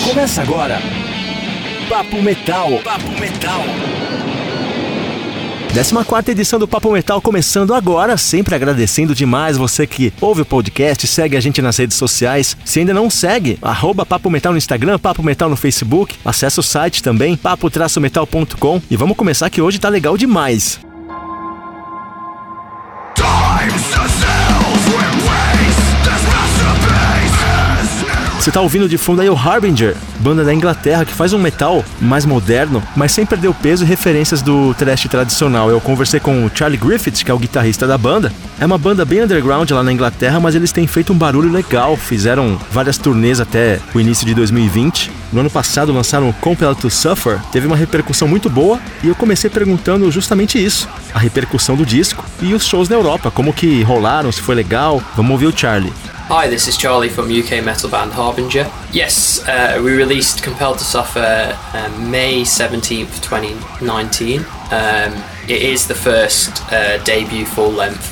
Começa agora. Papo Metal. Papo Metal. 14ª edição do Papo Metal começando agora, sempre agradecendo demais você que ouve o podcast, segue a gente nas redes sociais. Se ainda não segue, @Papo Metal no Instagram, Papo Metal no Facebook, acessa o site também, papo-metal.com, e vamos começar que hoje tá legal demais. Você tá ouvindo de fundo aí o Harbinger, banda da Inglaterra que faz um metal mais moderno, mas sem perder o peso e referências do thrash tradicional. Eu conversei com o Charlie Griffiths, que é o guitarrista da banda. É uma banda bem underground lá na Inglaterra, mas eles têm feito um barulho legal. Fizeram várias turnês até o início de 2020. No ano passado lançaram o Compelled to Suffer, teve uma repercussão muito boa, e eu comecei perguntando justamente isso, a repercussão do disco e os shows na Europa, como que rolaram, se foi legal. Vamos ouvir o Charlie. Hi, this is Charlie from UK metal band Harbinger. Yes, we released Compelled to Suffer May 17th, 2019. It is the first debut full-length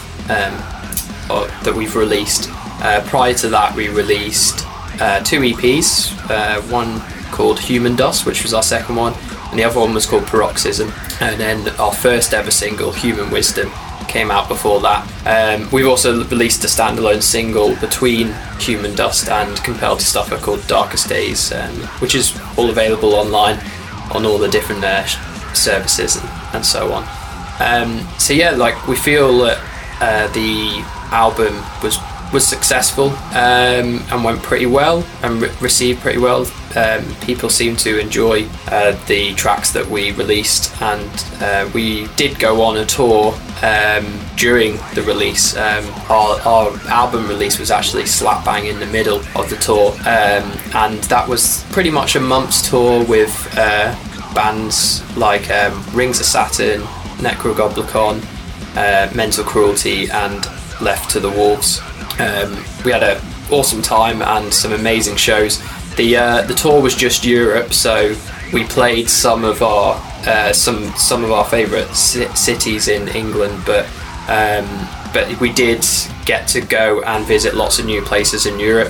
that we've released. Prior to that, we released 2 EPs, one called Human Dust, which was our second one, and the other one was called Paroxysm. And then our first ever single, Human Wisdom, came out before that. We've also released a standalone single between Human Dust and Compelled to Suffer called Darkest Days, which is all available online on all the different services and so on. So yeah, like we feel that the album was successful and went pretty well and received pretty well. People seem to enjoy the tracks that we released, and we did go on a tour during the release. Our album release was actually slap bang in the middle of the tour, and that was pretty much a month's tour with bands like Rings of Saturn, Necrogoblikon, Mental Cruelty and Left to the Wolves. We had an awesome time and some amazing shows. The tour was just Europe, so we played some of our favourite cities in England, but we did get to go and visit lots of new places in Europe.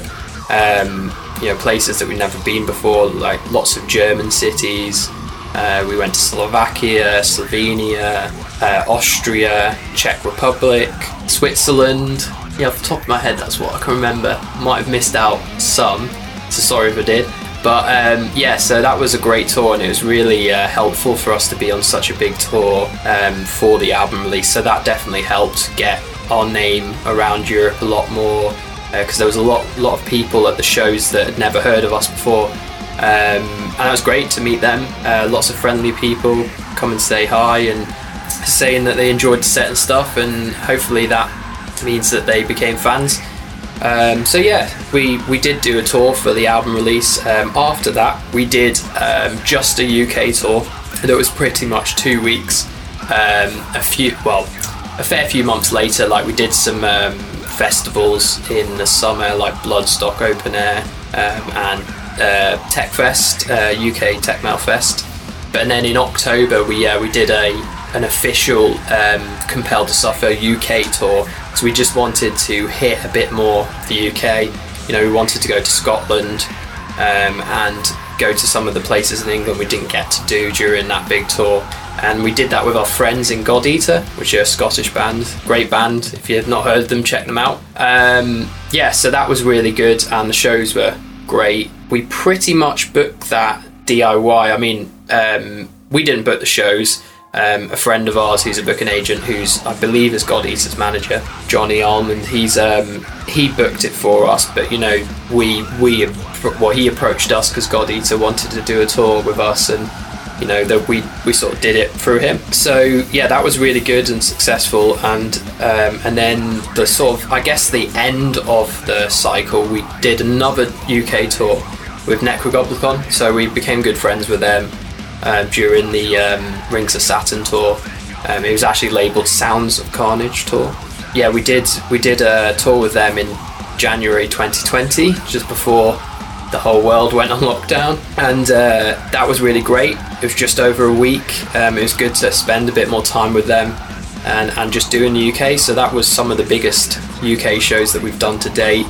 Places that we've never been before, like lots of German cities. We went to Slovakia, Slovenia, Austria, Czech Republic, Switzerland. Yeah, off the top of my head, that's what I can remember. Might have missed out some, so sorry if I did. But so that was a great tour, and it was really helpful for us to be on such a big tour for the album release. So that definitely helped get our name around Europe a lot more, because there was a lot of people at the shows that had never heard of us before. And it was great to meet them. Lots of friendly people come and say hi and saying that they enjoyed the set and stuff, and hopefully that means that they became fans. So yeah, we did do a tour for the album release. After that, we did just a UK tour that was pretty much 2 weeks. A fair few months later, like we did some festivals in the summer, like Bloodstock Open Air and Techfest, UK Tech Metal Fest. But then in October, we did an official Compelled to Suffer UK tour. So we just wanted to hit a bit more the UK. We wanted to go to Scotland and go to some of the places in England we didn't get to do during that big tour. And we did that with our friends in God Eater, which are a Scottish band. Great band. If you have not heard of them, check them out. So that was really good, and the shows were great. We pretty much booked that DIY. I mean, we didn't book the shows. A friend of ours who's a booking agent, who's I believe is God Eater's manager, Johnny Almond, he booked it for us. But he approached us because God Eater wanted to do a tour with us, and that we sort of did it through him. So yeah, that was really good and successful. And then the sort of, I guess, the end of the cycle, we did another UK tour with Necrogoblikon. So we became good friends with them during the Rings of Saturn tour. It was actually labelled Sounds of Carnage tour. Yeah, we did a tour with them in January 2020, just before the whole world went on lockdown, and that was really great. It was just over a week. It was good to spend a bit more time with them and just do in the UK. So that was some of the biggest UK shows that we've done to date.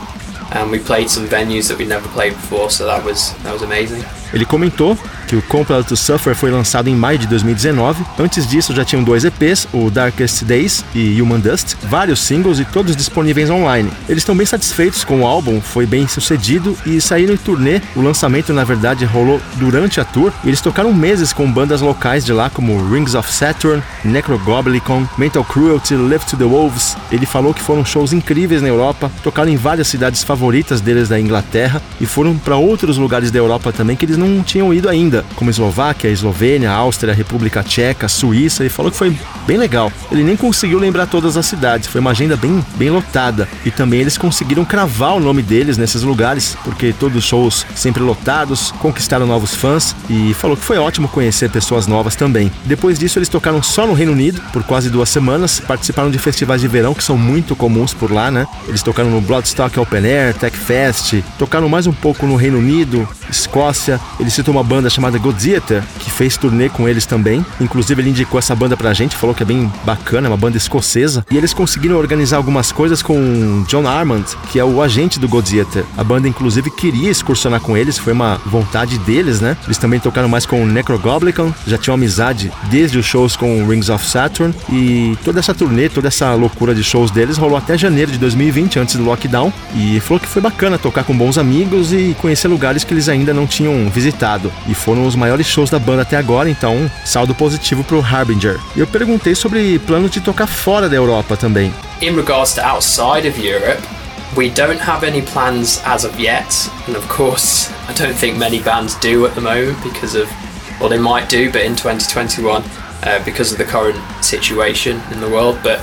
and we played some venues that we'd never played before, so that was amazing. Ele comentou que o Compelled to Suffer foi lançado em maio de 2019. Antes disso já tinham 2 EPs, o Darkest Days e Human Dust, vários singles e todos disponíveis online. Eles estão bem satisfeitos com o álbum, foi bem sucedido e saíram em turnê. O lançamento, na verdade, rolou durante a tour e eles tocaram meses com bandas locais de lá como Rings of Saturn, Necrogoblicon, Mental Cruelty, Left to the Wolves. Ele falou que foram shows incríveis na Europa, tocaram em várias cidades favoritas deles da Inglaterra e foram para outros lugares da Europa também que eles não tinham ido ainda, como Eslováquia, Eslovênia, Áustria, República Tcheca, Suíça, e falou que foi bem legal. Ele nem conseguiu lembrar todas as cidades, foi uma agenda bem lotada. E também eles conseguiram cravar o nome deles nesses lugares, porque todos os shows sempre lotados, conquistaram novos fãs, e falou que foi ótimo conhecer pessoas novas também. Depois disso eles tocaram só no Reino Unido por quase 2 semanas, participaram de festivais de verão que são muito comuns por lá, né? Eles tocaram no Bloodstock Open Air, Tech Fest, tocaram mais um pouco no Reino Unido, Escócia. Ele citou uma banda chamada Godseater, que fez turnê com eles também. Inclusive ele indicou essa banda pra gente, falou que é bem bacana, é uma banda escocesa. E eles conseguiram organizar algumas coisas com John Armand, que é o agente do Godseater. A banda inclusive queria excursionar com eles, foi uma vontade deles, né? Eles também tocaram mais com o Necrogoblicon, já tinham amizade desde os shows com Rings of Saturn. E toda essa turnê, toda essa loucura de shows deles rolou até janeiro de 2020, antes do lockdown. E falou que foi bacana tocar com bons amigos e conhecer lugares que eles ainda não tinham visitado. E foram os maiores shows da banda até agora, então saldo positivo pro Harbinger. E eu perguntei sobre planos de tocar fora da Europa também. In regards to outside of Europe, we don't have any plans as of yet, and of course I don't think many bands do at the moment because of, well, they might do, but in 2021 because of the current situation in the world. But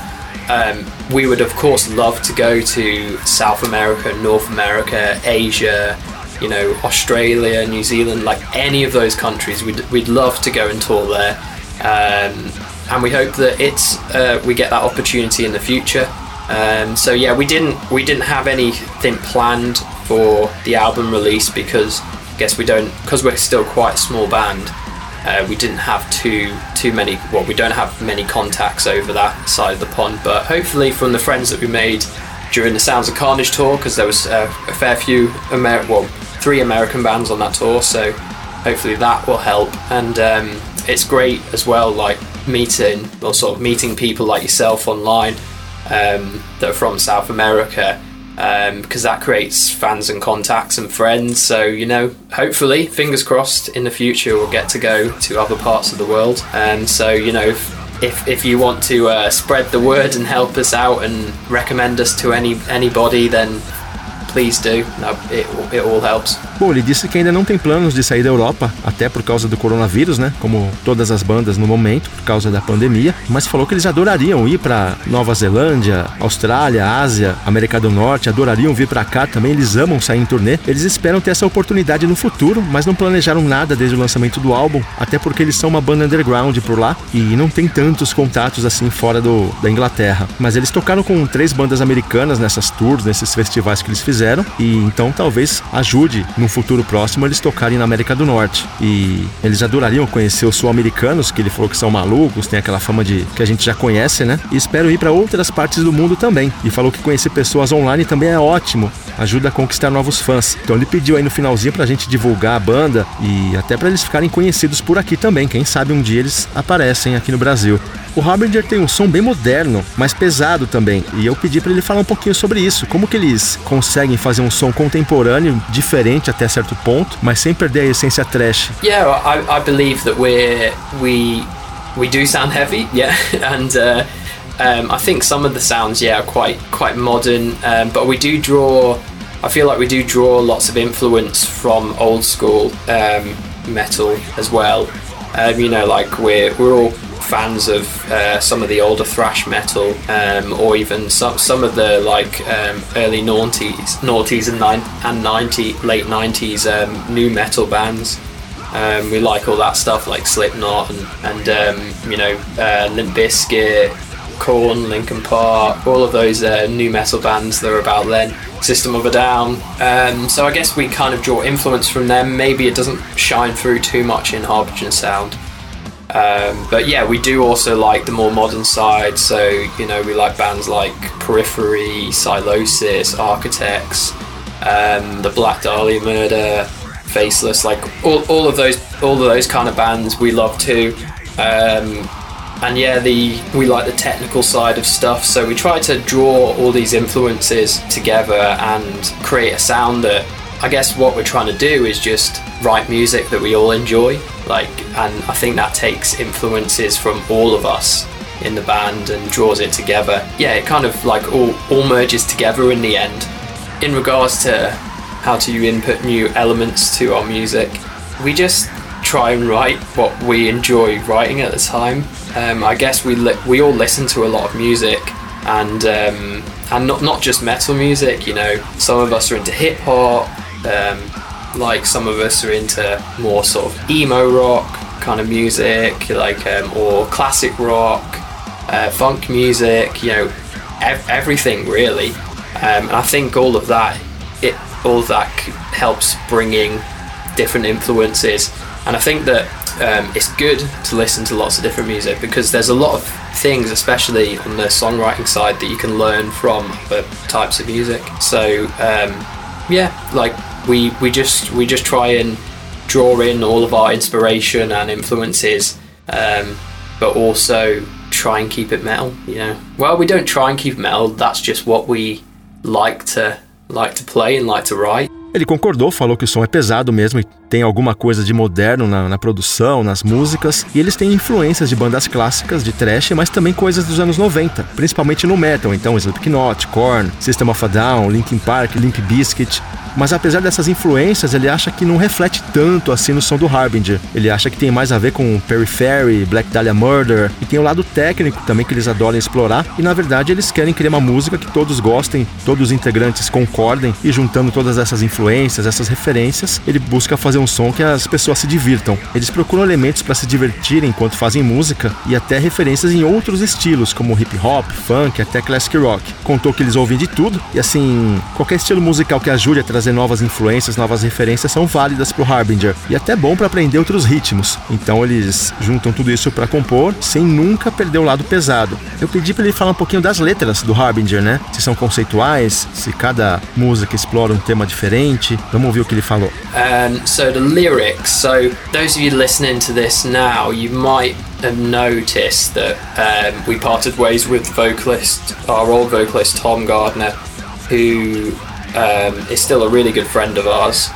we would of course love to go to South America, North America, Asia, you know, Australia, New Zealand, like any of those countries. We'd love to go and tour there, and we hope that we get that opportunity in the future. So yeah, we didn't have anything planned for the album release because I guess because we're still quite a small band. We didn't have too many. Well, we don't have many contacts over that side of the pond, but hopefully from the friends that we made during the Sounds of Carnage tour, because there was a fair few 3 American bands on that tour, so hopefully that will help. And it's great as well, like meeting people like yourself online that are from South America, because that creates fans and contacts and friends. So, you know, hopefully, fingers crossed, in the future we'll get to go to other parts of the world. And so, you know, if you want to spread the word and help us out and recommend us to anybody, then please do. No, it all helps. Bom, ele disse que ainda não tem planos de sair da Europa, até por causa do coronavírus, né? Como todas as bandas no momento, por causa da pandemia. Mas falou que eles adorariam ir para Nova Zelândia, Austrália, Ásia, América do Norte, adorariam vir para cá também. Eles amam sair em turnê. Eles esperam ter essa oportunidade no futuro, mas não planejaram nada desde o lançamento do álbum, até porque eles são uma banda underground por lá e não tem tantos contatos assim fora da Inglaterra. Mas eles tocaram com 3 bandas americanas nessas tours, nesses festivais que eles fizeram, e então talvez ajude no futuro próximo eles tocarem na América do Norte. E eles adorariam conhecer os sul-americanos, que ele falou que são malucos, tem aquela fama que a gente já conhece, né? E espero ir para outras partes do mundo também. E falou que conhecer pessoas online também é ótimo, ajuda a conquistar novos fãs. Então ele pediu aí no finalzinho pra gente divulgar a banda e até pra eles ficarem conhecidos por aqui também. Quem sabe um dia eles aparecem aqui no Brasil. O Harbinger tem um som bem moderno, mas pesado também, e eu pedi pra ele falar um pouquinho sobre isso, como que eles conseguem fazer um som contemporâneo, diferente até certo ponto, mas sem perder a essência thrash. Yeah, I believe that we do sound heavy, yeah, and I think some of the sounds, yeah, are quite modern, but we do draw. I feel like we do draw lots of influence from old school metal as well. You know, like we're all fans of some of the older thrash metal, or even some of the like early noughties and late 90s new metal bands. We like all that stuff like Slipknot and you know, Limp Bizkit, Korn, Linkin Park, all of those new metal bands that were about then, System of a Down. So I guess we kind of draw influence from them. Maybe it doesn't shine through too much in Harbinger sound. But yeah, we do also like the more modern side, so, you know, we like bands like Periphery, Silosis, Architects, the Black Dahlia Murder, Faceless, like all of those kind of bands we love too. And yeah, we like the technical side of stuff, so we try to draw all these influences together and create a sound that, I guess what we're trying to do is just write music that we all enjoy, and I think that takes influences from all of us in the band and draws it together. Yeah, it kind of like all merges together in the end. In regards to how to input new elements to our music, we just try and write what we enjoy writing at the time. I guess we all listen to a lot of music, and not just metal music. You know, some of us are into hip hop, like some of us are into more sort of emo rock kind of music, or classic rock, funk music. You know, everything really. And I think all of that helps bringing different influences. And I think that it's good to listen to lots of different music, because there's a lot of things, especially on the songwriting side, that you can learn from other types of music. So we just try and draw in all of our inspiration and influences, but also try and keep it metal. You know, well, we don't try and keep it metal. That's just what we like to play and like to write. Ele concordou, falou que o som é pesado mesmo e tem alguma coisa de moderno na produção, nas músicas, e eles têm influências de bandas clássicas de thrash, mas também coisas dos anos 90, principalmente no metal, então Slipknot, Korn, System of a Down, Linkin Park, Limp Bizkit. Mas apesar dessas influências, ele acha que não reflete tanto assim no som do Harbinger. Ele acha que tem mais a ver com Periphery, Black Dahlia Murder, e tem o lado técnico também que eles adoram explorar, e na verdade eles querem criar uma música que todos gostem, todos os integrantes concordem, e juntando todas essas influências, essas referências, ele busca fazer um som que as pessoas se divirtam. Eles procuram elementos para se divertirem enquanto fazem música, e até referências em outros estilos, como hip hop, funk, até classic rock. Contou que eles ouvem de tudo, e assim, qualquer estilo musical que ajude a trazer novas influências, novas referências são válidas pro Harbinger, e até bom para aprender outros ritmos. Então eles juntam tudo isso para compor, sem nunca perder o lado pesado. Eu pedi para ele falar um pouquinho das letras do Harbinger, né? Se são conceituais, se cada música explora um tema diferente. Vamos ouvir o que ele falou. So the lyrics, so those of you listening to this now, you might have noticed that we parted ways with our old vocalist Tom Gardner, who is still a really good friend of ours.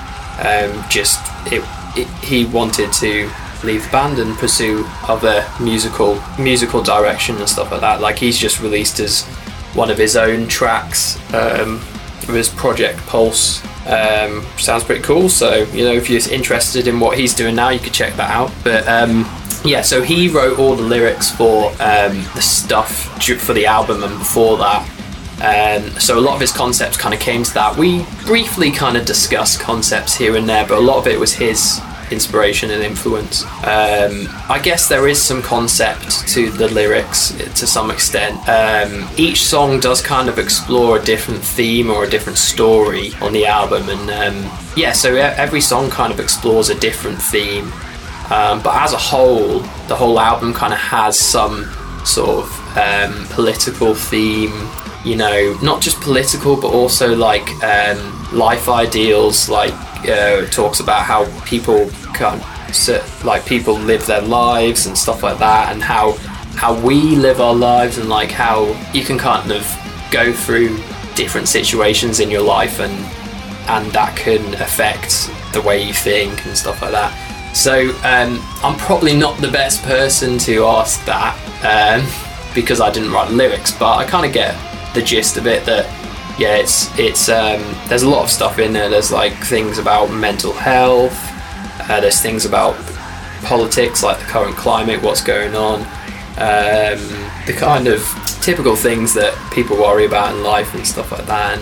He wanted to leave the band and pursue other musical direction and stuff like that. Like, he's just released one of his own tracks of his project Pulse. Sounds pretty cool, so you know, if you're interested in what he's doing now, you could check that out. But so he wrote all the lyrics for the stuff for the album and before that. So a lot of his concepts kind of came to that. We briefly kind of discussed concepts here and there, but a lot of it was his inspiration and influence. I guess there is some concept to the lyrics to some extent. Each song does kind of explore a different theme or a different story on the album, and so every song kind of explores a different theme. But as a whole, the whole album kind of has some sort of political theme. You know, not just political, but also like life ideals. Like talks about how people people live their lives and stuff like that, and how we live our lives, and like how you can kind of go through different situations in your life, and that can affect the way you think and stuff like that. So I'm probably not the best person to ask that because I didn't write lyrics, but I kind of get the gist of it, that it's there's a lot of stuff in there. There's like things about mental health, there's things about politics, like the current climate, what's going on, the kind of typical things that people worry about in life and stuff like that,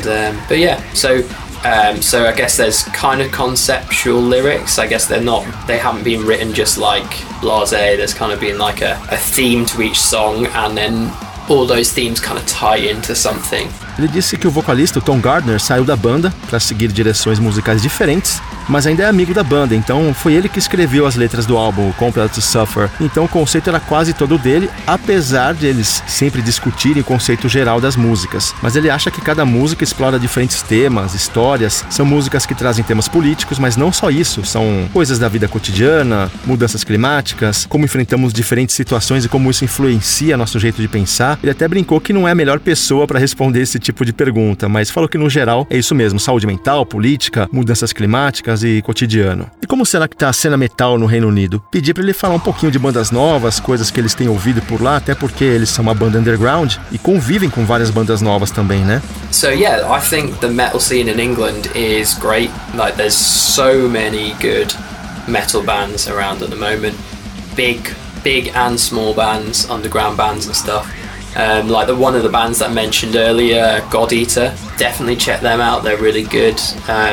so I guess there's kind of conceptual lyrics. I guess they haven't been written just like blasé. There's kind of been like a theme to each song, and then all those themes kind of tie into something. Ele disse que o vocalista Tom Gardner saiu da banda para seguir direções musicais diferentes, mas ainda é amigo da banda, então foi ele que escreveu as letras do álbum Compelled to Suffer. Então o conceito era quase todo dele, apesar de eles sempre discutirem o conceito geral das músicas. Mas ele acha que cada música explora diferentes temas, histórias, são músicas que trazem temas políticos, mas não só isso, são coisas da vida cotidiana, mudanças climáticas, como enfrentamos diferentes situações e como isso influencia nosso jeito de pensar. Ele até brincou que não é a melhor pessoa para responder esse tipo de pergunta, mas falou que no geral é isso mesmo, saúde mental, política, mudanças climáticas e cotidiano. E como será que tá a cena metal no Reino Unido? Pedi para ele falar um pouquinho de bandas novas, coisas que eles têm ouvido por lá, até porque eles são uma banda underground e convivem com várias bandas novas também, né? So yeah, I think the metal scene in England is great. Like there's so many good metal bands around at the moment. Big and small bands, underground bands and stuff. Like one of the bands that I mentioned earlier, God Eater, definitely check them out. They're really good.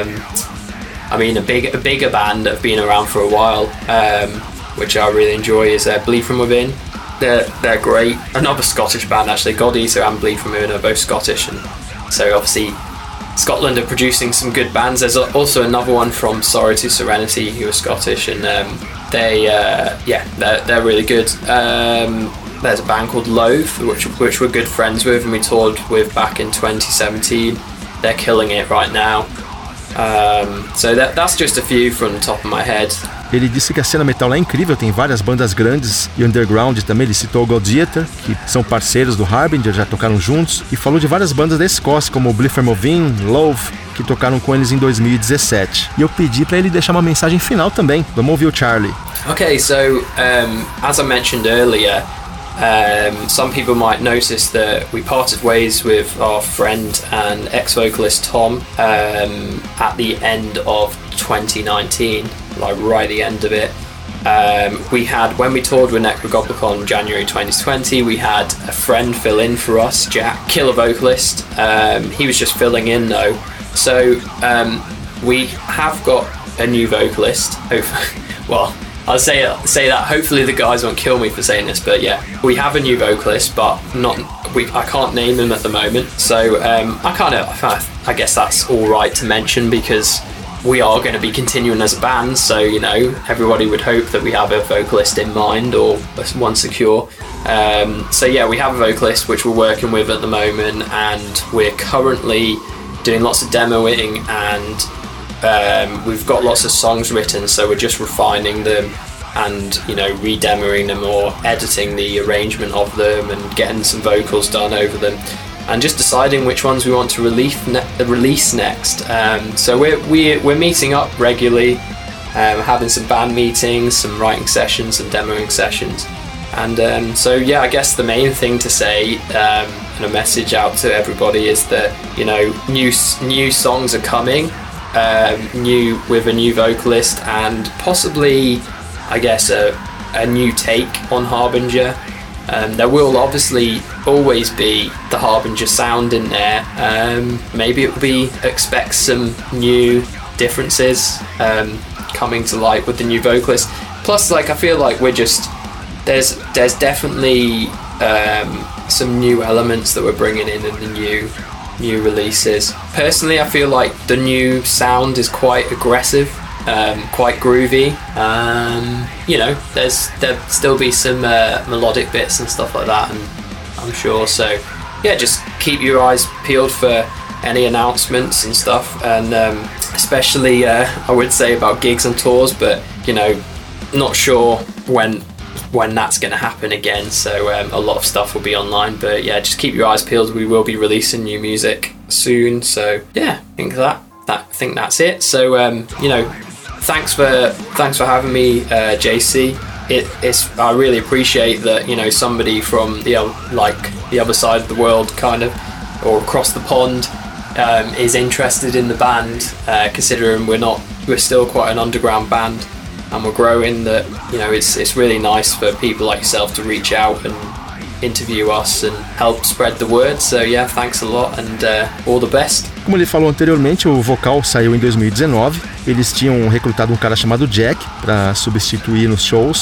I mean, a bigger band that have been around for a while, which I really enjoy, is Bleed From Within. They're great. Another Scottish band actually, God Eater and Bleed From Within are both Scottish, and so obviously Scotland are producing some good bands. There's also another one from Sorrow to Serenity who are Scottish, and they're really good. There's a band called Loathe, which we're good friends with and we toured with back in 2017. They're killing it right now. So that's just a few from the top of my head. Ele disse que a cena metal lá é incrível, tem várias bandas grandes e underground também. Ele citou o God Eater, que são parceiros do Harbinger, já tocaram juntos, e falou de várias bandas da Escócia, como Bleed From Within, Loathe, que tocaram com eles em 2017. E eu pedi para ele deixar uma mensagem final também. Vamos ouvir o Charlie. Okay, so as I mentioned earlier, some people might notice that we parted ways with our friend and ex-vocalist Tom at the end of 2019, like right at the end of it. We had, when we toured with Necrogoblicon in January 2020, we had a friend fill in for us, Jack, killer vocalist. He was just filling in though. So we have got a new vocalist. Well, I'll say that. Hopefully the guys won't kill me for saying this, but yeah, we have a new vocalist, but I can't name him at the moment. So I guess that's all right to mention because we are going to be continuing as a band. So you know, everybody would hope that we have a vocalist in mind or one secure. So yeah, we have a vocalist which we're working with at the moment, and we're currently doing lots of demoing and. We've got lots of songs written, so we're just refining them and, you know, re-demoing them or editing the arrangement of them and getting some vocals done over them and just deciding which ones we want to release next. So we're meeting up regularly, having some band meetings, some writing sessions, some demoing sessions. And so yeah, I guess the main thing to say and a message out to everybody is that, you know, new songs are coming. With a new vocalist and possibly, I guess, a new take on Harbinger. There will obviously always be the Harbinger sound in there. Maybe it will be expect some new differences coming to light with the new vocalist. Plus, like, I feel like we're just there's definitely some new elements that we're bringing in the new releases. Personally, I feel like the new sound is quite aggressive, quite groovy. You know, there'll still be some melodic bits and stuff like that, and I'm sure. So yeah, just keep your eyes peeled for any announcements and stuff, and especially I would say about gigs and tours, but you know, not sure when that's going to happen again, so a lot of stuff will be online, but yeah, just keep your eyes peeled. We will be releasing new music soon, so yeah, I think that's it. So you know, thanks for having me, JC. I really appreciate that, you know, somebody from the other side of the world, kind of, or across the pond, is interested in the band, considering we're still quite an underground band. And we're growing, that, you know, it's really nice for people like yourself to reach out and interview us and help spread the word. So yeah, thanks a lot and all the best. Como ele falou anteriormente, o vocal saiu em 2019. Eles tinham recrutado um cara chamado Jack para substituir nos shows.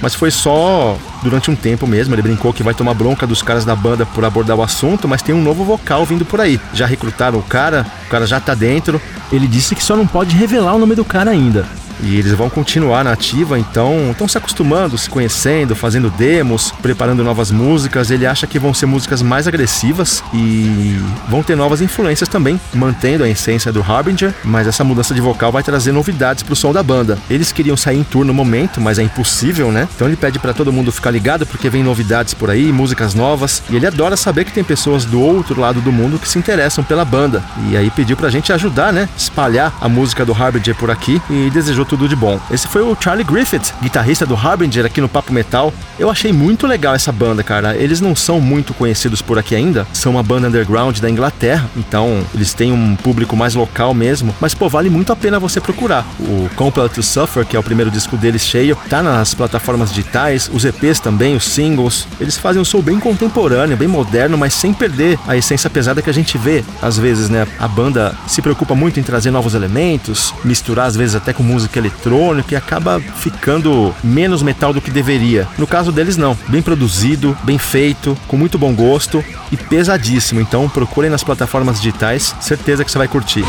mas foi só durante um tempo mesmo. Ele brincou que vai tomar bronca dos caras da banda por abordar o assunto, mas tem um novo vocal vindo por aí. Já recrutaram o cara já tá dentro. Ele disse que só não pode revelar o nome do cara ainda. E eles vão continuar na ativa, então estão se acostumando, se conhecendo, fazendo demos, preparando novas músicas. Ele acha que vão ser músicas mais agressivas e vão ter novas influências também, mantendo a essência do Harbinger, mas essa mudança de vocal vai trazer novidades pro som da banda. Eles queriam sair em tour no momento, mas é impossível, né? Então ele pede pra todo mundo ficar ligado, porque vem novidades por aí, músicas novas, e ele adora saber que tem pessoas do outro lado do mundo que se interessam pela banda. E aí pediu pra gente ajudar, né? Espalhar a música do Harbinger por aqui e desejou tudo de bom. Esse foi o Charlie Griffith, guitarrista do Harbinger aqui no Papo Metal. Eu achei muito legal essa banda, cara. Eles não são muito conhecidos por aqui ainda, são uma banda underground da Inglaterra, então eles têm um público mais local mesmo, mas pô, vale muito a pena você procurar. O Compelled to Suffer, que é o primeiro disco deles cheio, tá nas plataformas digitais, os EPs também, os singles. Eles fazem um som bem contemporâneo, bem moderno, mas sem perder a essência pesada que a gente vê às vezes, né? A banda se preocupa muito em trazer novos elementos, misturar às vezes até com música eletrônica, e acaba ficando menos metal do que deveria. No caso deles não, bem produzido, bem feito, com muito bom gosto e pesadíssimo. Então procurem nas plataformas digitais, certeza que você vai curtir.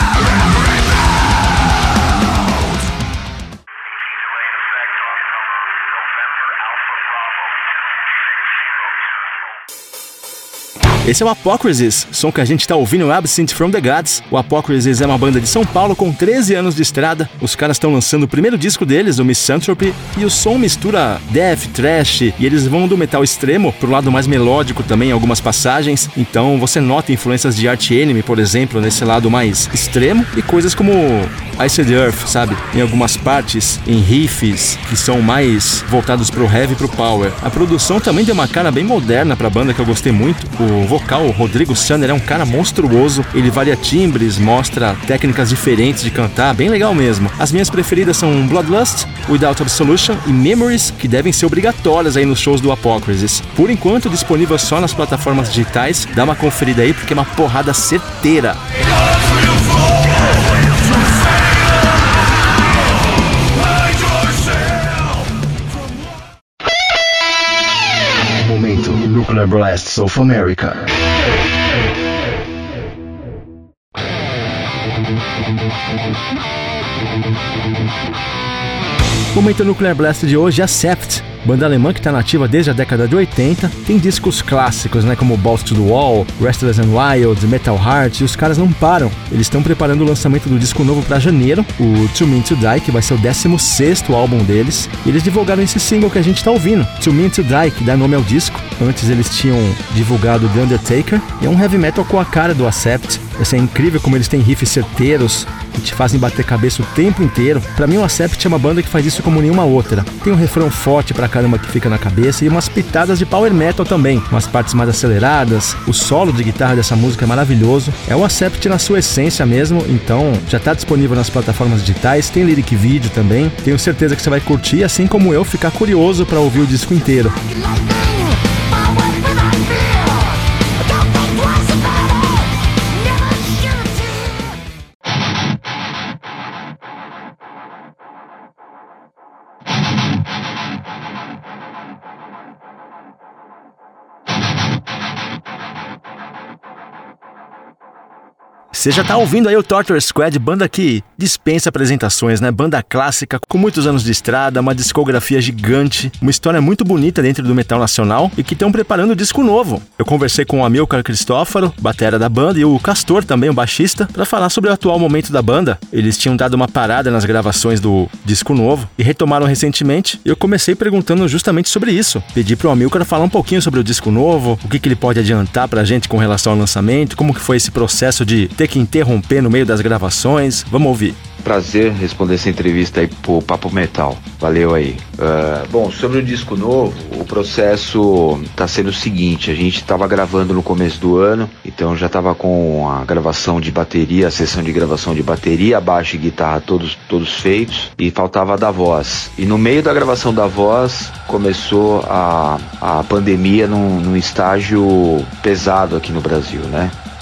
Esse é o Apocrysis, som que a gente tá ouvindo, Absent from the Gods. O Apocrysis é uma banda de São Paulo com 13 anos de estrada. Os caras estão lançando o primeiro disco deles, o Misanthropy, e o som mistura death, thrash, e eles vão do metal extremo pro lado mais melódico também em algumas passagens. Então você nota influências de Arch Enemy, por exemplo, nesse lado mais extremo, e coisas como Iced Earth, sabe? Em algumas partes, em riffs que são mais voltados pro heavy e pro power. A produção também deu uma cara bem moderna pra banda, que eu gostei muito. O vocal, o Rodrigo Sanner, é um cara monstruoso. Ele varia timbres, mostra técnicas diferentes de cantar, bem legal mesmo. As minhas preferidas são Bloodlust, Without Absolution e Memories, que devem ser obrigatórias aí nos shows do Apocrysis. Por enquanto, disponível só nas plataformas digitais. Dá uma conferida aí, porque é uma porrada certeira. Nuclear Blasts of America. O momento Nuclear Blast de hoje é a Sept, banda alemã que está nativa desde a década de 80, tem discos clássicos, né, como Balls to the Wall, Restless and Wild, Metal Heart, e os caras não param. Eles estão preparando o lançamento do disco novo para janeiro, o Too Mean to Die, que vai ser o 16º álbum deles, e eles divulgaram esse single que a gente está ouvindo, Too Mean to Die, que dá nome ao disco. Antes eles tinham divulgado The Undertaker, e é um heavy metal com a cara do Accept. É incrível como eles têm riffs certeiros que te fazem bater cabeça o tempo inteiro. Pra mim o Accept é uma banda que faz isso como nenhuma outra. Tem um refrão forte pra caramba que fica na cabeça e umas pitadas de power metal também, umas partes mais aceleradas. O solo de guitarra dessa música é maravilhoso. É o Accept na sua essência mesmo, então já tá disponível nas plataformas digitais, tem lyric vídeo também. Tenho certeza que você vai curtir, assim como eu, ficar curioso pra ouvir o disco inteiro. Você já tá ouvindo aí o Torture Squad, banda que dispensa apresentações, né? Banda clássica, com muitos anos de estrada, uma discografia gigante, uma história muito bonita dentro do metal nacional e que estão preparando um disco novo. Eu conversei com o Amilcar Cristófaro, batera da banda, e o Castor, também o baixista, para falar sobre o atual momento da banda. Eles tinham dado uma parada nas gravações do disco novo e retomaram recentemente, e eu comecei perguntando justamente sobre isso. Pedi pro Amilcar falar um pouquinho sobre o disco novo, o que ele pode adiantar pra gente com relação ao lançamento, como que foi esse processo de ter que interromper no meio das gravações. Vamos ouvir. Prazer responder essa entrevista aí pro Papo Metal. Valeu aí. Bom, sobre o disco novo, o processo tá sendo o seguinte: a gente tava gravando no começo do ano, então já tava com a gravação de bateria, a sessão de gravação de bateria, baixo e guitarra todos feitos, e faltava a da voz. E no meio da gravação da voz começou a pandemia num estágio pesado aqui no Brasil, né?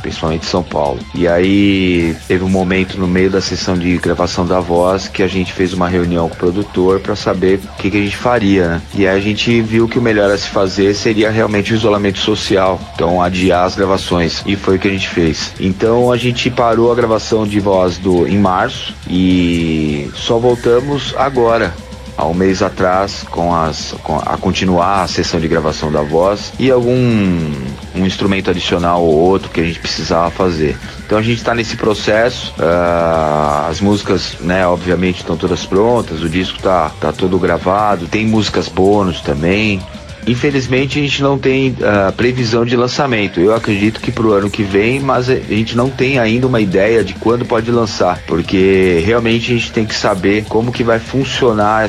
principalmente São Paulo. E aí teve um momento no meio da sessão de gravação da voz que a gente fez uma reunião com o produtor para saber o que a gente faria, né? E aí a gente viu que o melhor a se fazer seria realmente o isolamento social, então adiar as gravações, e foi o que a gente fez. Então a gente parou a gravação de voz em março e só voltamos agora, há um mês atrás, a continuar a sessão de gravação da voz e um instrumento adicional ou outro que a gente precisava fazer. Então a gente está nesse processo, as músicas, né, obviamente estão todas prontas, o disco tá todo gravado, tem músicas bônus também. Infelizmente a gente não tem previsão de lançamento. Eu acredito que pro ano que vem, mas a gente não tem ainda uma ideia de quando pode lançar, porque realmente a gente tem que saber como que vai funcionar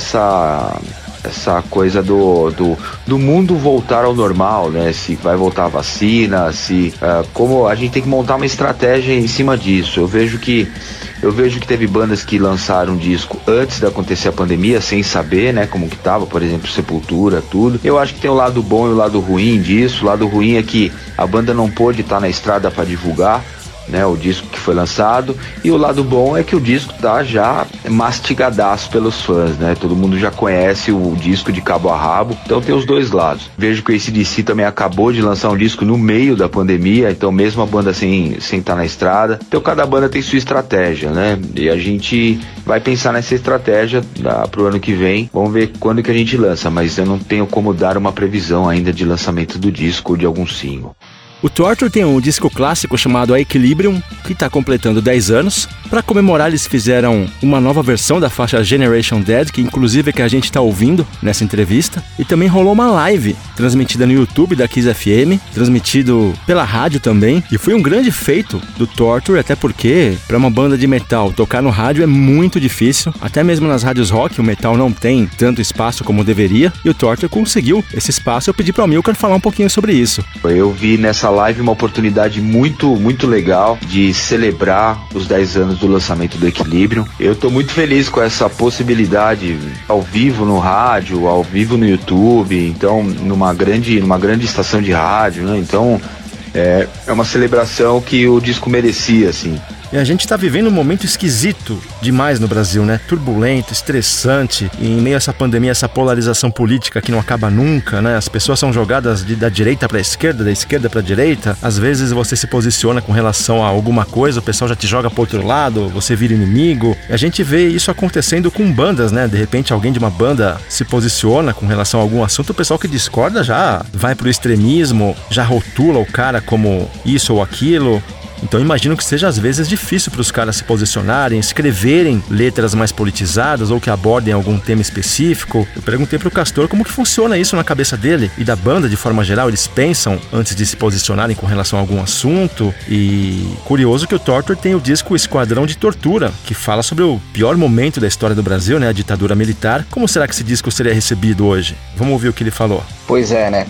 essa coisa do mundo voltar ao normal, né? Se vai voltar a vacina, como a gente tem que montar uma estratégia em cima disso. Eu vejo que teve bandas que lançaram um disco antes de acontecer a pandemia, sem saber, né, como que tava, por exemplo, Sepultura, tudo. Eu acho que tem o lado bom e o lado ruim disso. O lado ruim é que a banda não pôde estar na estrada para divulgar, né, o disco que foi lançado, e o lado bom é que o disco tá já mastigadaço pelos fãs, né? Todo mundo já conhece o disco de cabo a rabo, então tem os dois lados. Vejo que o AC/DC também acabou de lançar um disco no meio da pandemia, então mesmo a banda sem estar na estrada, então cada banda tem sua estratégia, né? E a gente vai pensar nessa estratégia pro ano que vem, vamos ver quando que a gente lança, mas eu não tenho como dar uma previsão ainda de lançamento do disco ou de algum single. O Torture tem um disco clássico chamado A Equilibrium, que está completando 10 anos. Para comemorar, eles fizeram uma nova versão da faixa Generation Dead, que inclusive é que a gente está ouvindo nessa entrevista. E também rolou uma live, transmitida no YouTube da Kiss FM, transmitido pela rádio também. E foi um grande feito do Torture, até porque para uma banda de metal tocar no rádio é muito difícil. Até mesmo nas rádios rock o metal não tem tanto espaço como deveria. E o Torture conseguiu esse espaço. Eu pedi para o Milcar falar um pouquinho sobre isso. Eu vi nessa live uma oportunidade muito, muito legal de celebrar os 10 anos do lançamento do Equilibrium. Eu tô muito feliz com essa possibilidade ao vivo no rádio, ao vivo no YouTube, então numa grande estação de rádio, né? Então é uma celebração que o disco merecia, assim. E a gente tá vivendo um momento esquisito demais no Brasil, né? Turbulento, estressante, e em meio a essa pandemia, essa polarização política que não acaba nunca, né? As pessoas são jogadas da direita pra esquerda, da esquerda pra direita. Às vezes você se posiciona com relação a alguma coisa, o pessoal já te joga pro outro lado, você vira inimigo. E a gente vê isso acontecendo com bandas, né? De repente alguém de uma banda se posiciona com relação a algum assunto, o pessoal que discorda já vai pro extremismo, já rotula o cara como isso ou aquilo. Então imagino que seja às vezes difícil para os caras se posicionarem, escreverem letras mais politizadas ou que abordem algum tema específico. Eu perguntei para o Castor como que funciona isso na cabeça dele e da banda de forma geral. Eles pensam antes de se posicionarem com relação a algum assunto. E curioso que o Torture tem o disco Esquadrão de Tortura, que fala sobre o pior momento da história do Brasil, né, a ditadura militar. Como será que esse disco seria recebido hoje? Vamos ouvir o que ele falou. Pois é, né?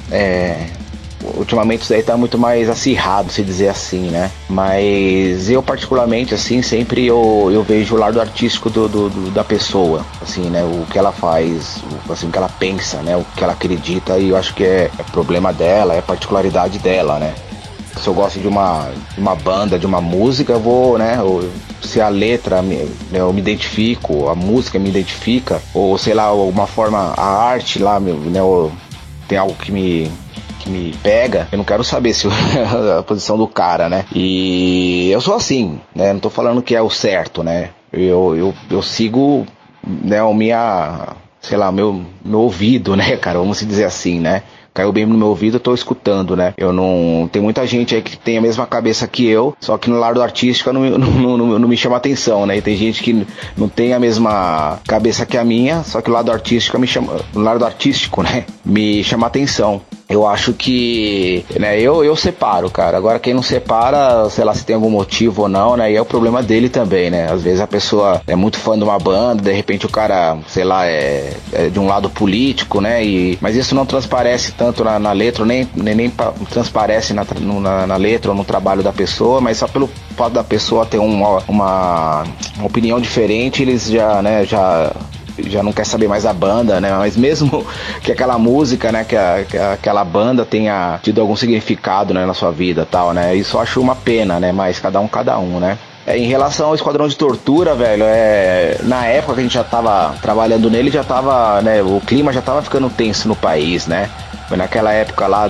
Ultimamente isso aí tá muito mais acirrado, se dizer assim, né? Mas eu particularmente, assim, sempre eu vejo o lado artístico da pessoa, assim, né? O que ela faz, assim, o que ela pensa, né? O que ela acredita, e eu acho que é problema dela, é particularidade dela, né? Se eu gosto de uma banda, de uma música, eu vou, né? Se a letra eu me identifico, a música me identifica, ou sei lá, alguma forma, a arte lá, né? Tem algo que me pega, eu não quero saber se a posição do cara, né? E eu sou assim, né? Não tô falando que é o certo, né? Eu sigo, né, meu ouvido, né, cara? Vamos dizer assim, né? Caiu bem no meu ouvido, eu tô escutando, né? Tem muita gente aí que tem a mesma cabeça que eu, só que no lado artístico não me chama atenção, né? E tem gente que não tem a mesma cabeça que a minha, só que o lado artístico me chama atenção. Eu acho que, né, eu separo, cara. Agora quem não separa, sei lá, se tem algum motivo ou não, né? E é o problema dele também, né? Às vezes a pessoa é muito fã de uma banda, de repente o cara, sei lá, é de um lado político, né? Mas isso não transparece tanto na letra, nem transparece na letra ou no trabalho da pessoa, mas só pelo fato da pessoa ter uma opinião diferente, eles já já não quer saber mais da banda, né? Mas mesmo que aquela música, né, que aquela banda tenha tido algum significado, né, na sua vida, tal, né? Isso eu acho uma pena, né? Mas cada um, né? Em relação ao Esquadrão de Tortura, velho, na época que a gente já tava trabalhando nele, já tava, né, o clima já tava ficando tenso no país, né? Foi naquela época lá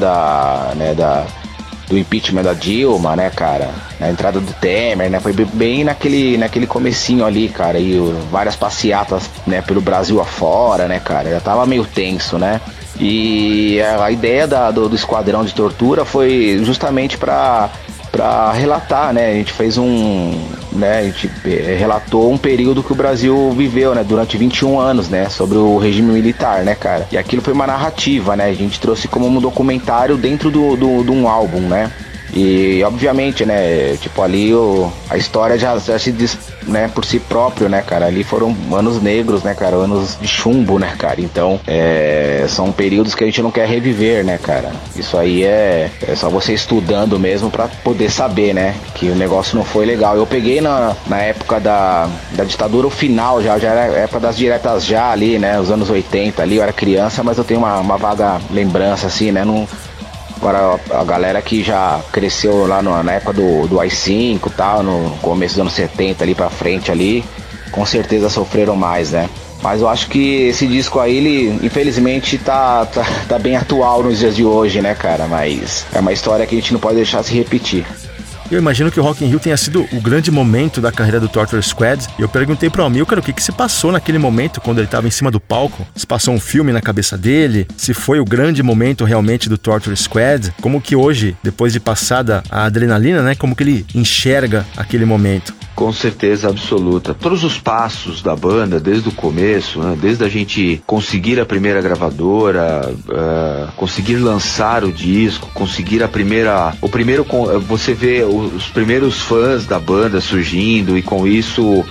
do impeachment da Dilma, né, cara? Na entrada do Temer, né? Foi bem naquele comecinho ali, cara. E várias passeatas, né, pelo Brasil afora, né, cara? Já tava meio tenso, né? E a ideia do Esquadrão de Tortura foi justamente pra relatar, né? A gente fez a gente relatou um período que o Brasil viveu, né? Durante 21 anos, né? Sobre o regime militar, né, cara? E aquilo foi uma narrativa, né? A gente trouxe como um documentário dentro de um álbum, né? E obviamente, né, tipo, ali a história já se diz, né, por si próprio, né, cara. Ali foram anos negros, né, cara, anos de chumbo, né, cara. Então, são períodos que a gente não quer reviver, né, cara. Isso aí é só você estudando mesmo pra poder saber, né, que o negócio não foi legal. Eu peguei na época da ditadura, o final, já era época das diretas já ali, né, os anos 80 ali, eu era criança, mas eu tenho uma vaga lembrança, assim, né, Agora a galera que já cresceu lá na época do AI-5 e tal, no começo dos anos 70 ali pra frente ali, com certeza sofreram mais, né? Mas eu acho que esse disco aí, ele infelizmente tá bem atual nos dias de hoje, né, cara? Mas é uma história que a gente não pode deixar se repetir. Eu imagino que o Rock in Rio tenha sido o grande momento da carreira do Torture Squad. E eu perguntei pro Amilcar o que se passou naquele momento quando ele estava em cima do palco. Se passou um filme na cabeça dele, se foi o grande momento realmente do Torture Squad. Como que hoje, depois de passada a adrenalina, né, como que ele enxerga aquele momento? Com certeza absoluta. Todos os passos da banda, desde o começo, né, desde a gente conseguir a primeira gravadora, conseguir lançar o disco, conseguir você vê os primeiros fãs da banda surgindo e com isso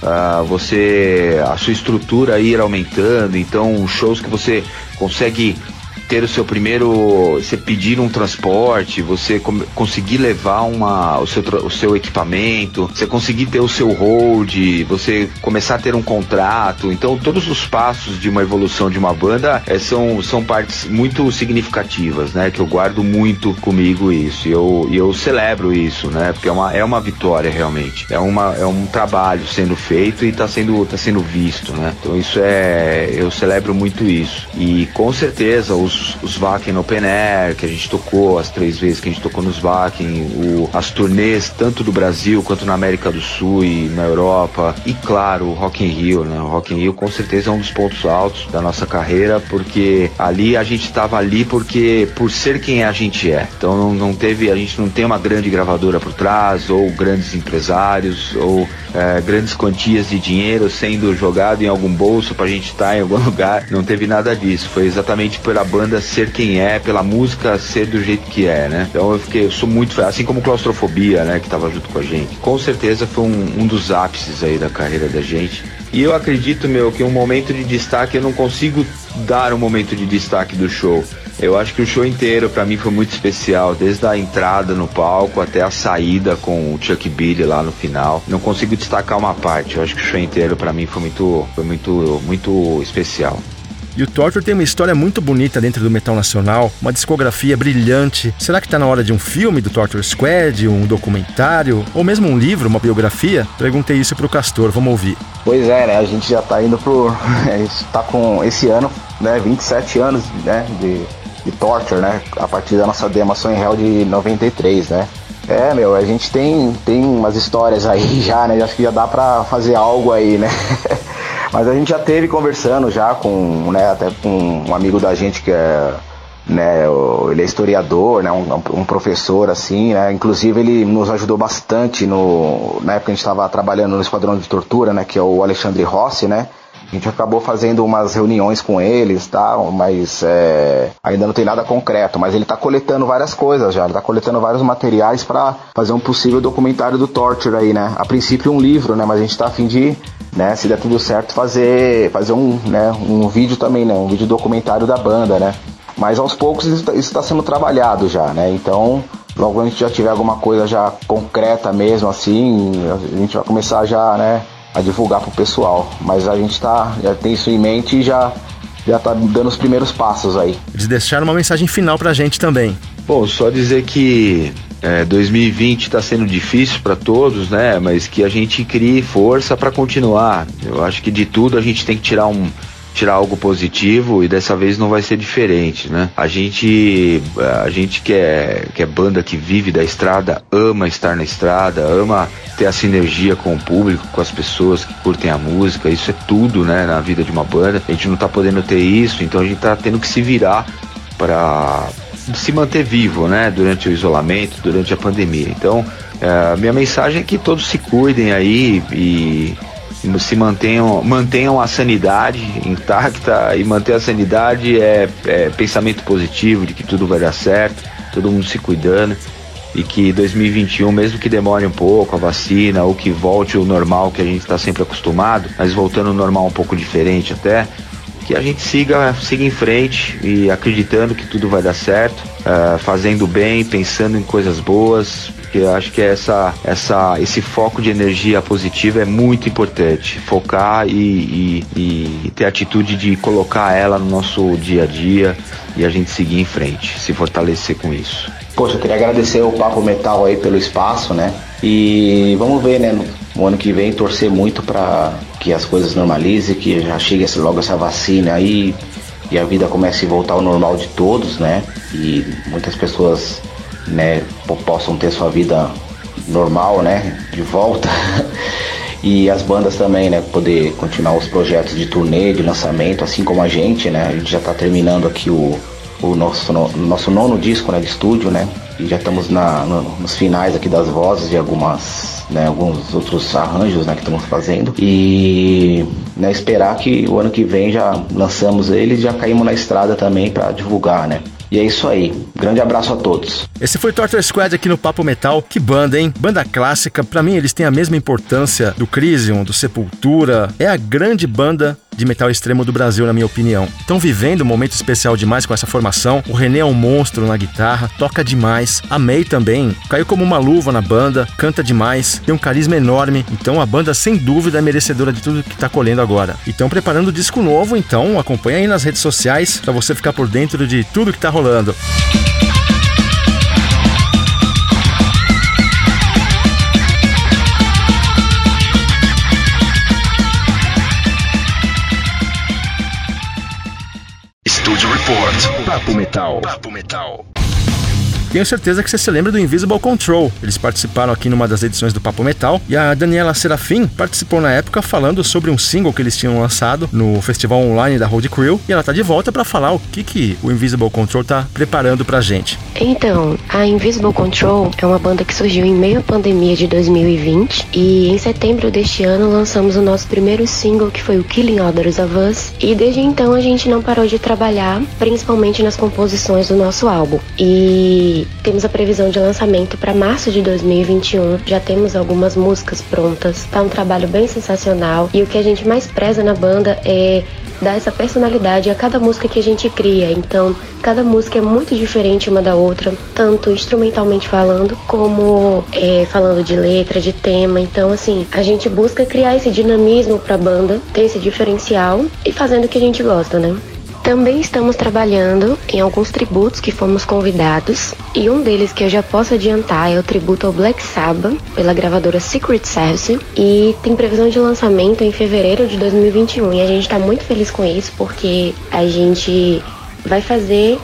a sua estrutura ir aumentando. Então, shows que você consegue ter o seu primeiro, você pedir um transporte, você conseguir levar o seu equipamento, você conseguir ter o seu hold, você começar a ter um contrato. Então todos os passos de uma evolução de uma banda são partes muito significativas, né, que eu guardo muito comigo isso, e eu celebro isso, né, porque é uma vitória realmente, é um trabalho sendo feito e tá sendo visto, né, então eu celebro muito isso. E com certeza os Wacken Open Air, que a gente tocou as 3 vezes que a gente tocou nos Wacken, as turnês tanto do Brasil quanto na América do Sul e na Europa, e claro, o Rock in Rio, né? O Rock in Rio com certeza é um dos pontos altos da nossa carreira, porque ali a gente estava ali por ser quem a gente é. Então a gente não tem uma grande gravadora por trás, ou grandes empresários, ou grandes quantias de dinheiro sendo jogado em algum bolso pra gente estar em algum lugar. Não teve nada disso, foi exatamente pela banda ser quem é, pela música ser do jeito que é, né? Então eu sou muito, assim como Claustrofobia, né, que tava junto com a gente. Com certeza foi um dos ápices aí da carreira da gente. E eu acredito, que um momento de destaque, eu não consigo dar um momento de destaque do show. Eu acho que o show inteiro pra mim foi muito especial, desde a entrada no palco até a saída com o Chuck Billy lá no final. Não consigo destacar uma parte, eu acho que o show inteiro pra mim foi muito especial. E o Torture tem uma história muito bonita dentro do metal nacional, uma discografia brilhante. Será que tá na hora de um filme do Torture Squad, um documentário, ou mesmo um livro, uma biografia? Perguntei isso pro Castor, vamos ouvir. Pois é, né, a gente já tá indo a gente tá com esse ano, né, 27 anos, né, de Torture, né, a partir da nossa demo Sonho Hell de 93, né. A gente tem umas histórias aí já, né, acho que já dá pra fazer algo aí, né. Mas a gente já teve conversando já com, né, até com um amigo da gente que é, né, ele é historiador, né, um professor assim, né, inclusive ele nos ajudou bastante na época que a gente estava trabalhando no Esquadrão de Tortura, né, que é o Alexandre Rossi, né. A gente acabou fazendo umas reuniões com eles, tá? Mas ainda não tem nada concreto. Mas ele está coletando várias coisas já. Ele está coletando vários materiais para fazer um possível documentário do Torture aí, né? A princípio um livro, né? Mas a gente está a fim de, né? Se der tudo certo, fazer um vídeo também, né? Um vídeo documentário da banda, né? Mas aos poucos isso está sendo trabalhado já, né? Então, logo a gente já tiver alguma coisa já concreta mesmo, assim, a gente vai começar já, né? divulgar pro pessoal. Mas a gente já tem isso em mente e já tá dando os primeiros passos aí. Eles deixaram uma mensagem final pra gente também. Bom, só dizer que 2020 está sendo difícil para todos, né? Mas que a gente crie força para continuar. Eu acho que de tudo a gente tem que tirar algo positivo, e dessa vez não vai ser diferente, né? A gente que é banda que vive da estrada, ama estar na estrada, ama ter a sinergia com o público, com as pessoas que curtem a música. Isso é tudo, né, na vida de uma banda. A gente não tá podendo ter isso, então a gente tá tendo que se virar para se manter vivo, né, durante o isolamento, durante a pandemia. Então, minha mensagem é que todos se cuidem aí e se mantenham a sanidade intacta. E manter a sanidade é pensamento positivo de que tudo vai dar certo, todo mundo se cuidando, e que 2021, mesmo que demore um pouco a vacina, ou que volte o normal que a gente está sempre acostumado, mas voltando ao normal um pouco diferente até, que a gente siga em frente e acreditando que tudo vai dar certo, fazendo bem, pensando em coisas boas, porque eu acho que esse foco de energia positiva é muito importante. Focar e ter a atitude de colocar ela no nosso dia a dia e a gente seguir em frente, se fortalecer com isso. Poxa, eu queria agradecer o Papo Metal aí pelo espaço, né? E vamos ver, né, no ano que vem, torcer muito para que as coisas normalizem, que já chegue logo essa vacina aí e a vida comece a voltar ao normal de todos, né? E muitas pessoas, né, possam ter sua vida normal, né, de volta. E as bandas também, né, poder continuar os projetos de turnê, de lançamento, assim como a gente, né? A gente já tá terminando aqui o nosso nono disco, né, de estúdio, né? E já estamos nos finais aqui das vozes e alguns outros arranjos, né, que estamos fazendo. E, né, esperar que o ano que vem já lançamos eles e já caímos na estrada também para divulgar, né? E é isso aí. Grande abraço a todos. Esse foi Torture Squad aqui no Papo Metal. Que banda, hein? Banda clássica. Pra mim, eles têm a mesma importância do Crisium, do Sepultura. É a grande banda de metal extremo do Brasil, na minha opinião. Estão vivendo um momento especial demais com essa formação. O René é um monstro na guitarra, toca demais. A May também caiu como uma luva na banda, canta demais, tem um carisma enorme. Então a banda, sem dúvida, é merecedora de tudo que tá colhendo agora. E estão preparando disco novo, então acompanha aí nas redes sociais pra você ficar por dentro de tudo que tá rolando. Studio Report. Papo Metal. Papo Metal. Tenho certeza que você se lembra do Invisible Control. Eles participaram aqui numa das edições do Papo Metal, e a Daniela Serafim participou na época falando sobre um single que eles tinham lançado no festival online da Road Crew, e ela tá de volta para falar o que o Invisible Control tá preparando pra gente. Então, a Invisible Control é uma banda que surgiu em meio à pandemia de 2020, e em setembro deste ano lançamos o nosso primeiro single, que foi o Killing Others of Us, e desde então a gente não parou de trabalhar, principalmente nas composições do nosso álbum. E temos a previsão de lançamento para março de 2021. Já temos algumas músicas prontas. Tá um trabalho bem sensacional. E o que a gente mais preza na banda é dar essa personalidade a cada música que a gente cria. Então, cada música é muito diferente uma da outra, tanto instrumentalmente falando, como falando de letra, de tema. Então, assim, a gente busca criar esse dinamismo pra banda, ter esse diferencial e fazendo o que a gente gosta, né? Também estamos trabalhando em alguns tributos que fomos convidados, e um deles que eu já posso adiantar é o tributo ao Black Sabbath, pela gravadora Secret Service, e tem previsão de lançamento em fevereiro de 2021, e a gente está muito feliz com isso, porque a gente vai fazer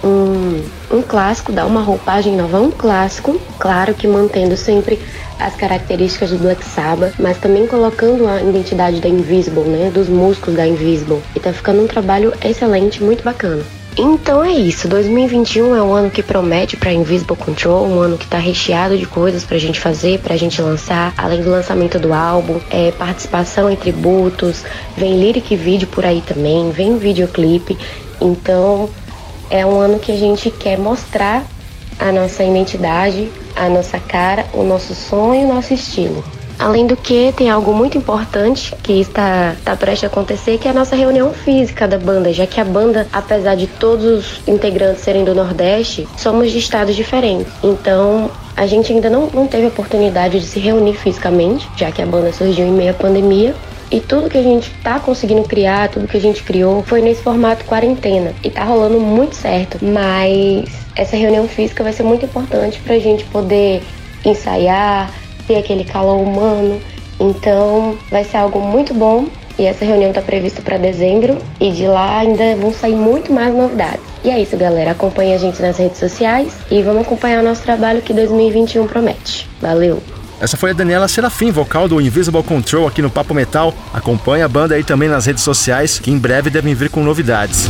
um clássico, dar uma roupagem nova a um clássico, claro que mantendo sempre as características do Black Sabbath, mas também colocando a identidade da Invisible, né, dos músicos da Invisible. E tá ficando um trabalho excelente, muito bacana. Então é isso, 2021 é um ano que promete pra Invisible Control, um ano que tá recheado de coisas pra gente fazer, pra gente lançar, além do lançamento do álbum, participação em tributos, vem lyric vídeo por aí também, vem videoclipe. Então é um ano que a gente quer mostrar a nossa identidade, a nossa cara, o nosso som e o nosso estilo. Além do que, tem algo muito importante que está prestes a acontecer, que é a nossa reunião física da banda, já que a banda, apesar de todos os integrantes serem do Nordeste, somos de estados diferentes. Então, A gente ainda não teve a oportunidade de se reunir fisicamente, já que a banda surgiu em meio à pandemia. E tudo que a gente tá conseguindo criar, tudo que a gente criou, foi nesse formato quarentena. E tá rolando muito certo. Mas essa reunião física vai ser muito importante pra gente poder ensaiar, ter aquele calor humano. Então vai ser algo muito bom. E essa reunião tá prevista para dezembro. E de lá ainda vão sair muito mais novidades. E é isso, galera. Acompanhe a gente nas redes sociais. E vamos acompanhar o nosso trabalho que 2021 promete. Valeu! Essa foi a Daniela Serafim, vocal do Invisible Control aqui no Papo Metal. Acompanhe a banda aí também nas redes sociais, que em breve devem vir com novidades.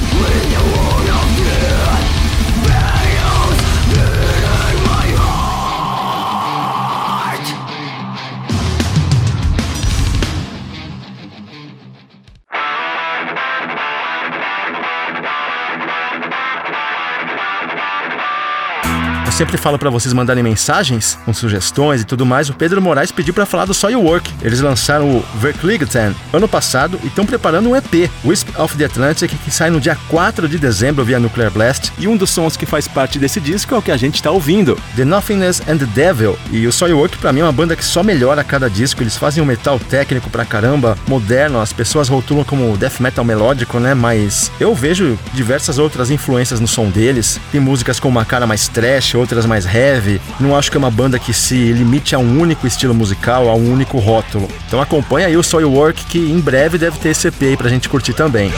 Eu sempre falo pra vocês mandarem mensagens com sugestões e tudo mais. O Pedro Moraes pediu pra falar do Soilwork. Eles lançaram o Verkligheten ano passado e estão preparando um EP, Wisp of the Atlantic, que sai no dia 4 de dezembro via Nuclear Blast. E um dos sons que faz parte desse disco é o que a gente tá ouvindo, The Nothingness and the Devil. E o Soilwork pra mim é uma banda que só melhora a cada disco. Eles fazem um metal técnico pra caramba, moderno. As pessoas rotulam como death metal melódico, né? Mas eu vejo diversas outras influências no som deles. Tem músicas com uma cara mais trash, outras mais heavy. Não acho que é uma banda que se limite a um único estilo musical, a um único rótulo. Então acompanha aí o Soilwork, que em breve deve ter esse EP aí pra gente curtir também.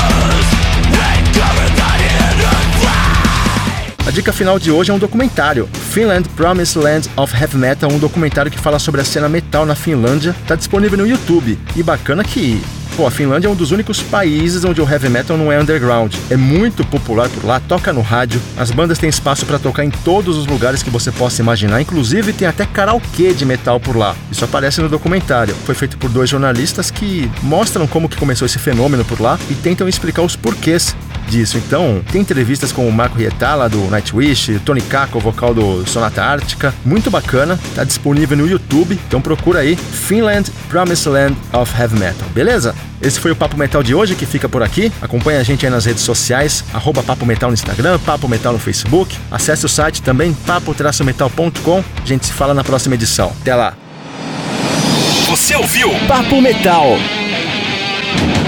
A dica final de hoje é um documentário, Finland Promised Land of Heavy Metal, um documentário que fala sobre a cena metal na Finlândia. Tá disponível no YouTube. E bacana que a Finlândia é um dos únicos países onde o heavy metal não é underground. É muito popular por lá, toca no rádio, as bandas têm espaço para tocar em todos os lugares que você possa imaginar, inclusive tem até karaokê de metal por lá. Isso aparece no documentário. Foi feito por 2 jornalistas que mostram como que começou esse fenômeno por lá e tentam explicar os porquês disso. Então, tem entrevistas com o Marco Rietala, do Nightwish, Tony Kakko, vocal do Sonata Ártica. Muito bacana, tá disponível no YouTube, então procura aí, Finland Promised Land of Heavy Metal, beleza? Esse foi o Papo Metal de hoje, que fica por aqui. Acompanhe a gente aí nas redes sociais, @Papo Metal no Instagram, Papo Metal no Facebook. Acesse o site também, papo-metal.com. A gente se fala na próxima edição. Até lá! Você ouviu Papo Metal.